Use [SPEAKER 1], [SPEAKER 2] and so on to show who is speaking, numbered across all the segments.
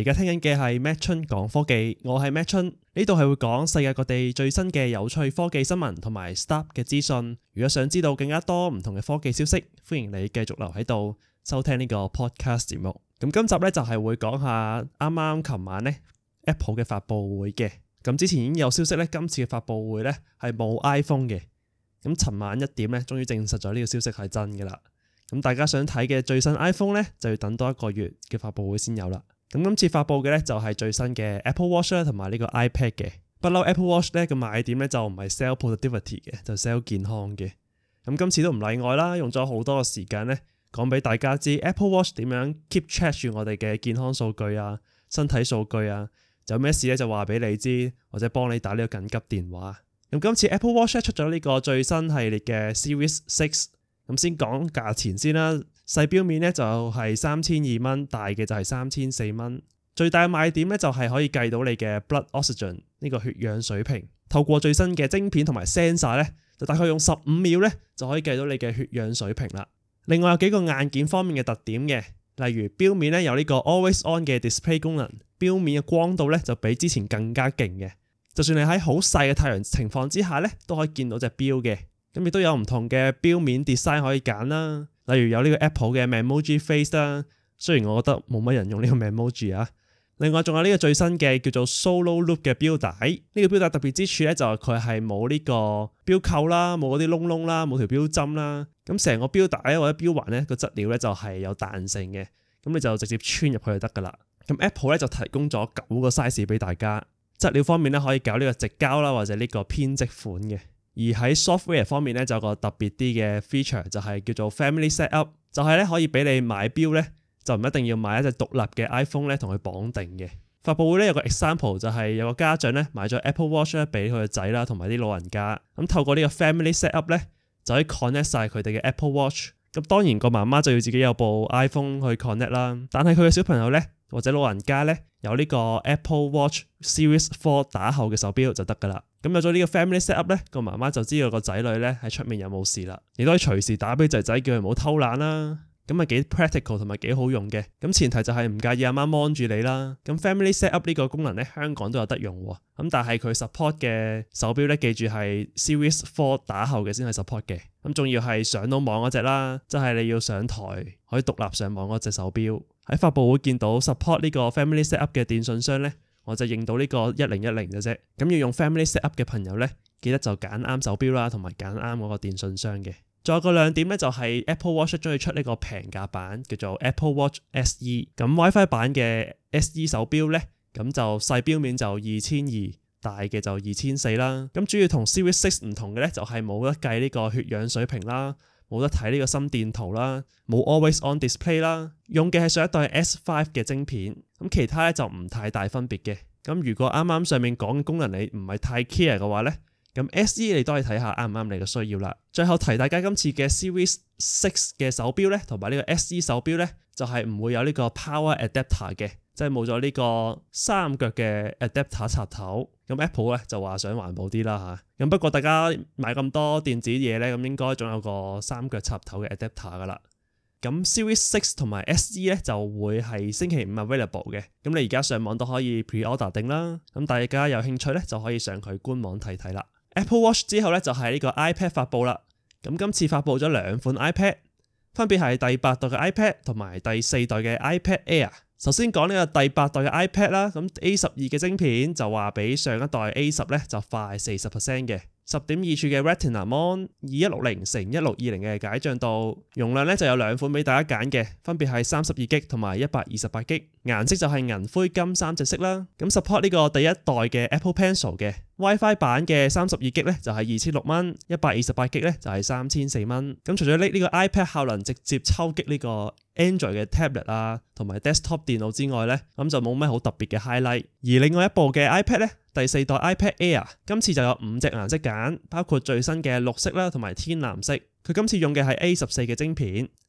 [SPEAKER 1] 而家聽緊嘅係 Matt 春講科技，我係 Matt 春，呢度係會講世界各地最新嘅有趣科技新聞同埋 Startup 嘅資訊。如果想知道更加多唔同嘅科技消息，歡迎你繼續留喺度收聽呢個 podcast 節目。咁今集呢，就係會講下啱啱琴晚呢 Apple 嘅發佈會嘅。咁之前已經有消息呢，今次嘅發佈會呢係冇 iPhone 嘅。咁尋晚1點呢，終於證實咗呢個消息係真嘅啦。咁大家想睇嘅最新 iPhone 呢，就要等多1個月嘅發佈會先有啦。咁今次發佈嘅呢，就係最新嘅 Apple Watch 啦，同埋呢個 iPad 嘅。不嬲 Apple Watch 呢個賣點呢，就唔係 sell productivity 嘅，就 sell 健康嘅。咁今次都唔例外啦，用咗好多嘅時間呢，講俾大家知 Apple Watch 點樣 keep track 住我哋嘅健康數據啊、身體數據啊，有咩事呢就話俾你知，或者幫你打呢個緊急電話。咁今次 Apple Watch 出咗呢個最新系列嘅 Series 6，咁先講價錢先啦。細錶面呢就係3200蚊，大嘅就係3400蚊。最大嘅賣點呢就係可以計到你嘅 blood oxygen 呢個血氧水平。透過最新嘅晶片同埋 sensor 呢，就大概用15秒呢就可以計到你嘅血氧水平啦。另外有幾個硬件方面嘅特點嘅，例如錶面呢有呢個 always on 嘅 display 功能，錶面嘅光度呢就比之前更加勁嘅。就算你喺好細嘅太陽情況之下呢，都可以見到隻錶嘅。咁亦都有唔同嘅錶面 design 可以揀啦，例如有呢個 Apple 嘅 Memoji Face 啦，雖然我覺得冇乜人用呢個 Memoji 啊。另外仲有呢個最新嘅叫做 Solo Loop 嘅錶帶，呢個錶帶特別之處咧就係佢係冇呢個錶扣啦，冇嗰啲窿窿啦，冇條錶針啦。咁成個錶帶或者錶環咧個質料咧就係有彈性嘅，咁你就直接穿入去就得噶啦。咁 Apple 咧就提供咗9個 size 俾大家，質料方面咧可以搞呢個直膠啦，或者呢個編織款嘅。而喺 software 方面咧就有個特別啲嘅 feature 就係叫做 Family Setup， 就係咧可以俾你買錶咧就唔一定要買一隻獨立嘅 iPhone 咧同佢綁定嘅。發佈會咧有個 example 就係有個家長咧買咗 Apple Watch 咧俾佢個仔啦同埋啲老人家，咁透過呢個 Family Setup 咧就可以 connect 晒佢哋嘅 Apple Watch。咁當然個媽媽就要自己有部 iPhone 去 connect 啦，但係佢嘅小朋友咧或者老人家咧有呢個 Apple Watch Series 4打後嘅手錶就得噶啦。咁有咗呢個 Family Setup 咧，個媽媽就知道個仔女咧喺出面有冇事啦，亦都可以隨時打俾仔仔叫佢唔好偷懶啦。咁咪幾 practical 同埋幾好用嘅。咁前提就係唔介意阿媽 mon 住你啦。咁 Family Setup 呢個功能咧香港都有得用喎。咁但係佢 support 嘅手錶咧，記住係 Series 4打後嘅先係 support 嘅。咁仲要係上到網嗰隻啦，即係你要上台可以獨立上網嗰隻手錶。喺發佈會見到 support 呢個 Family Setup 嘅電信商咧，我就認到呢個1010嘅啫。咁要用 Family Setup 嘅朋友咧，記得就揀啱手錶啦，同埋揀啱嗰個電信商嘅。再有個亮點咧，就係 Apple Watch 終於出呢個平價版，叫做 Apple Watch SE。咁 WiFi 版嘅 SE 手錶咧，咁就細錶面就2200，大嘅就2400啦。咁主要同 Series 6唔同嘅咧，就係冇得計呢個血氧水平啦，冇得睇呢個心電圖啦，冇 Always On Display 啦，用嘅係上一代 S5 嘅晶片。咁其他咧就唔太大分別嘅。咁如果啱啱上面講嘅功能你唔係太 care 嘅話咧，咁 SE 你都可以睇下啱唔啱你嘅需要啦。最後提大家今次嘅 Series 6嘅手錶咧，同埋呢個 SE 手錶咧，就係唔會有呢個 Power Adapter 嘅，即係冇咗呢個3腳嘅 Adapter 插頭。咁 Apple 咧就話想環保啲啦嚇。咁不過大家買咁多電子嘢咧，咁應該仲有個3腳插頭嘅 Adapter 噶啦。咁 Series 6同埋 SE 咧就會係星期5 available 嘅。咁你而家上網都可以 pre-order 定啦。咁大家有興趣咧就可以上佢官網睇睇啦。Apple Watch 之後咧就係呢個 iPad 發佈啦。咁今次發佈咗2款 iPad， 分別係第8代嘅 iPad 同埋第4代嘅 iPad Air。首先講呢個第8代嘅 iPad 啦，咁 A12 嘅晶片就話比上一代 A10 咧就快 40% 嘅。10.2 寸嘅 Retina Mon， 2160x1620嘅解像度，容量咧就有2款俾大家揀嘅，分別係 32GB 同埋 128GB， 顏色就係銀灰金3隻色啦。咁 support 呢個第一代嘅 Apple Pencil 嘅 WiFi 版嘅 32GB 咧就係2600蚊，128GB 咧就係3400蚊。咁除咗呢個 iPad 效能直接抽擊呢個 Android 嘅 tablet 啊，同埋 desktop 電腦之外咧，咁就冇咩好特別嘅 highlight。而另外一部嘅 iPad 咧，第4代 iPad Air 今次就有5隻顏色揀，包括最新嘅綠色啦，同埋天藍色。佢今次用嘅係 A14 嘅晶片，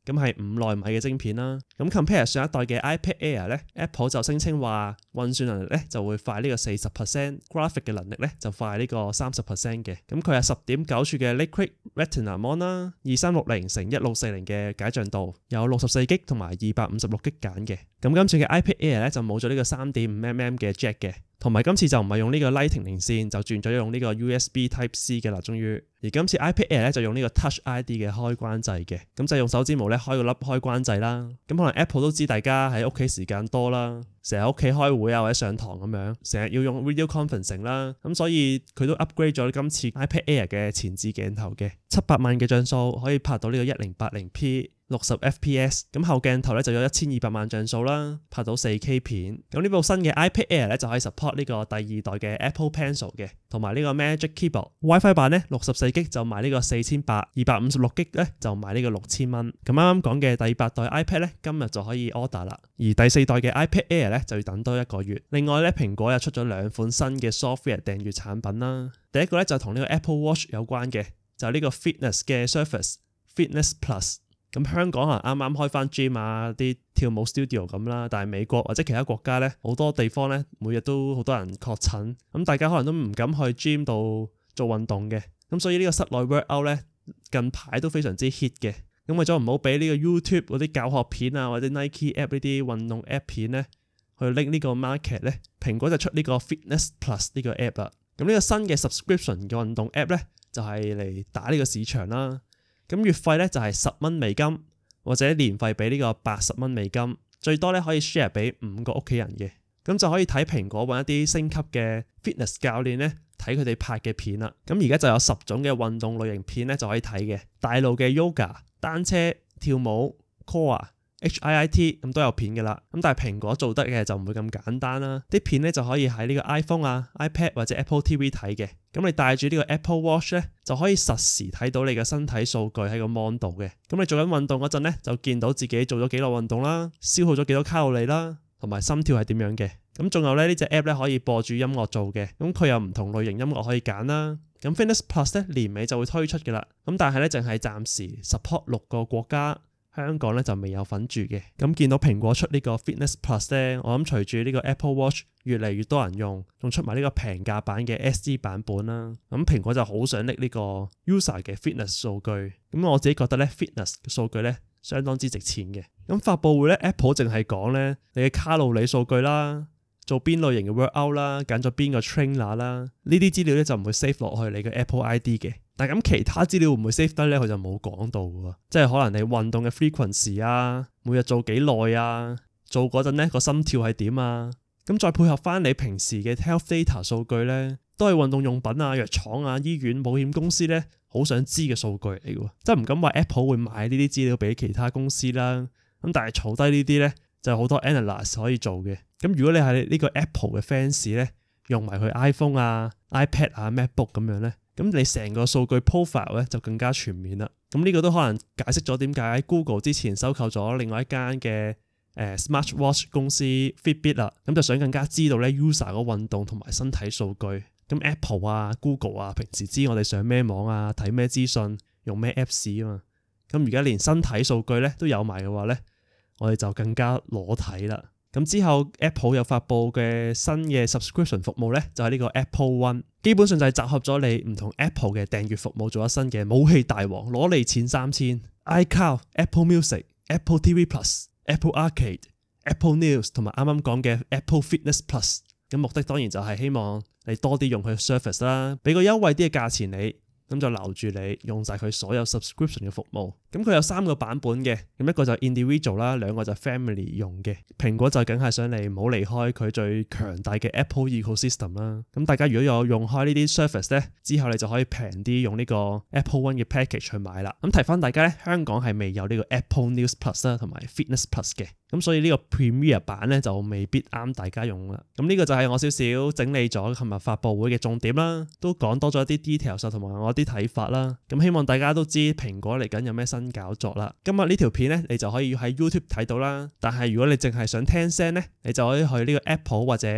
[SPEAKER 1] 咁係5奈米嘅晶片啦。咁 compare 上一代嘅 iPad Air 咧 ，Apple 就聲稱話運算能力咧就會快呢個40%，graphic 嘅能力咧就快呢個30% 嘅。咁佢係10.9寸嘅 Liquid Retina Mon 啦，2360×1640嘅解像度，有64GB 同埋256GB 揀嘅。咁今次嘅 iPad Air 咧就冇咗呢個3.5mm 嘅 Jack 嘅。同埋今次就唔係用呢個 Lightning 連線，就轉咗用呢個 USB Type C 嘅啦，終於。而今次 iPad Air 咧就用呢個 Touch ID 嘅開關掣嘅，咁就用手指模咧開個粒開關掣啦。咁可能 Apple 都知大家喺屋企時間多啦，成日屋企開會啊或者上堂咁樣，成日要用 video conferencing 啦，咁所以佢都 upgrade 咗今次 iPad Air 嘅前置鏡頭嘅700萬嘅像素，可以拍到呢個 1080p。60 fps， 咁後鏡頭咧就有1200萬像素啦，拍到 4K 片。咁呢部新嘅 iPad Air 咧就可以 support 呢個第2代嘅 Apple Pencil 嘅，同埋呢個 Magic Keyboard。WiFi 版咧64GB就賣呢個4800，256GB咧就賣呢個6000蚊。咁啱啱講嘅第8代 iPad 咧今日就可以 order 啦，而第4代嘅 iPad Air 咧就要等多1個月。另外咧蘋果又出咗2款新嘅 software 訂閱產品啦。第一個咧就同呢個 Apple Watch 有關嘅，就係呢個 Fitness 嘅 Surface Fitness Plus。咁香港可能啱啱開翻 gym 啊，啲跳舞 studio 咁啦，但係美國或者其他國家咧，好多地方咧每日都好多人確診，咁大家可能都唔敢去 gym 度做運動嘅，咁所以呢個室內 workout 咧近排都非常之 hit 嘅。咁為咗唔好俾呢個 YouTube 嗰啲教學片啊或者 Nike app 呢啲運動 app 片咧去拎呢個 market 咧，蘋果就出呢個 Fitness Plus 呢個 app 啦。咁呢個新嘅 subscription 嘅運動 app 咧就係嚟打呢個市場啦。咁月費咧就係$10美金，或者年費俾呢個$80美金，最多咧可以 share 俾5個屋企人嘅，咁就可以睇蘋果揾一啲升級嘅 fitness 教練咧睇佢哋拍嘅片啦。咁而家就有10種嘅運動類型片咧就可以睇嘅，大路嘅 yoga、單車、跳舞、core、HIIT 咁都有片嘅啦。咁但係蘋果做得嘅就唔會咁簡單啦，啲片咧就可以喺呢個 iPhone 啊、iPad 或者 Apple TV 睇嘅。咁你帶住呢個 Apple Watch 咧，就可以實時睇到你嘅身體數據喺個 mon 度嘅。咁你做緊運動嗰陣咧，就見到自己做咗幾耐運動啦，消耗咗幾多卡路里啦，同埋心跳係點樣嘅。咁仲有咧呢隻 app 咧可以播住音樂做嘅，咁佢有唔同類型音樂可以揀啦。咁 Fitness Plus 咧年尾就會推出嘅啦，咁但係咧淨係暫時 support 6個國家。香港咧就未有份住嘅，咁見到蘋果出呢個 Fitness Plus 咧，我諗隨住呢個 Apple Watch 越嚟越多人用，仲出埋呢個平價版嘅 SE 版本啦，咁蘋果就好想拎呢個 user 嘅 fitness 數據，咁我自己覺得咧 fitness 嘅數據咧相當之值錢嘅。咁發佈會咧 Apple 淨係講咧你嘅卡路里數據啦，做邊類型嘅 workout 啦，揀咗邊個 trainer 啦，呢啲資料咧就唔會 save 落去你嘅 Apple ID 嘅。但係咁其他資料會唔會 save 得咧？佢就冇講到喎，即係可能你運動嘅 frequency 啊，每日做幾耐啊，做嗰陣咧個心跳係點啊，咁再配合翻你平時嘅 health data 數據咧，都係運動用品啊、藥廠啊、醫院、保險公司咧好想知嘅數據嚟嘅喎，即係唔敢話 Apple 會賣呢啲資料俾其他公司啦，咁但係儲低呢啲咧就好多 analyst 可以做嘅。咁如果你係呢個 Apple 嘅 fans 咧，用埋佢 iPhone 啊、iPad 啊、MacBook 咁樣咧。咁你成個數據 profile 咧就更加全面啦。咁呢個都可能解釋咗點解 Google 之前收購咗另外一間嘅Smartwatch 公司 Fitbit 啦。咁就想更加知道咧 user 個運動同埋身體數據。咁 Apple 啊、Google 啊，平時知我哋上咩網啊、睇咩資訊、用咩 Apps 啊嘛。咁而家連身體數據咧都有埋嘅話咧，我哋就更加裸體啦。咁之後 Apple 有發布嘅新嘅 subscription 服務咧，就係呢個 Apple One， 基本上就係集合咗你唔同 Apple 嘅訂閱服務做一身嘅武器大王，攞你錢3000。iCloud、Apple Music、Apple TV Plus、Apple Arcade、Apple News 同埋啱啱講嘅 Apple Fitness Plus。咁目的當然就係希望你多啲用佢 service 啦，俾個優惠啲嘅價錢你。咁就留住你用晒佢所有 subscription 嘅服務。咁佢有3個版本嘅，咁一個就 individual 啦，2個就 family 用嘅。蘋果就梗係想你唔好離開佢最強大嘅 Apple ecosystem 啦。咁大家如果有用開呢啲 service 咧，之後你就可以平啲用呢個 Apple One 嘅 package 去買啦。咁提翻大家咧，香港係未有呢個 Apple News Plus 啦，同埋 Fitness Plus 嘅。咁所以呢個 Premier 版咧就未必啱大家用啦。咁呢個就係我少少整理咗琴日發佈會嘅重點啦，都講多咗一啲 details 同埋我啲睇法啦。咁希望大家都知蘋果嚟緊有咩新搞作啦。今日呢條片咧，你就可以喺 YouTube 睇到啦。但係如果你淨係想聽聲咧，你就可以去呢個 Apple 或者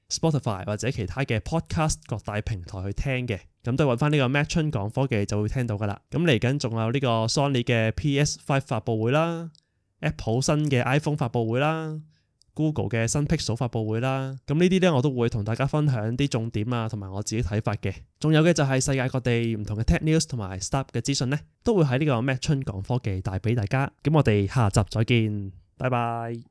[SPEAKER 1] Spotify 或者其他嘅 podcast 各大平台去聽嘅，咁都係揾翻呢個 Matt 春講科技就會聽到噶啦。咁嚟緊仲有呢個 Sony 嘅 PS5 發佈會啦， Apple 新嘅 iPhone 發佈會啦， Google 嘅新 Pixel 發佈會啦，咁呢啲呢，我都會同大家分享啲重點啊，同埋我自己睇法嘅。仲有嘅就係世界各地唔同嘅 Tech News 同埋 Startup 嘅資訊呢，都會喺呢個 Matt 春講科技帶俾大家。咁我哋下集再見，拜拜。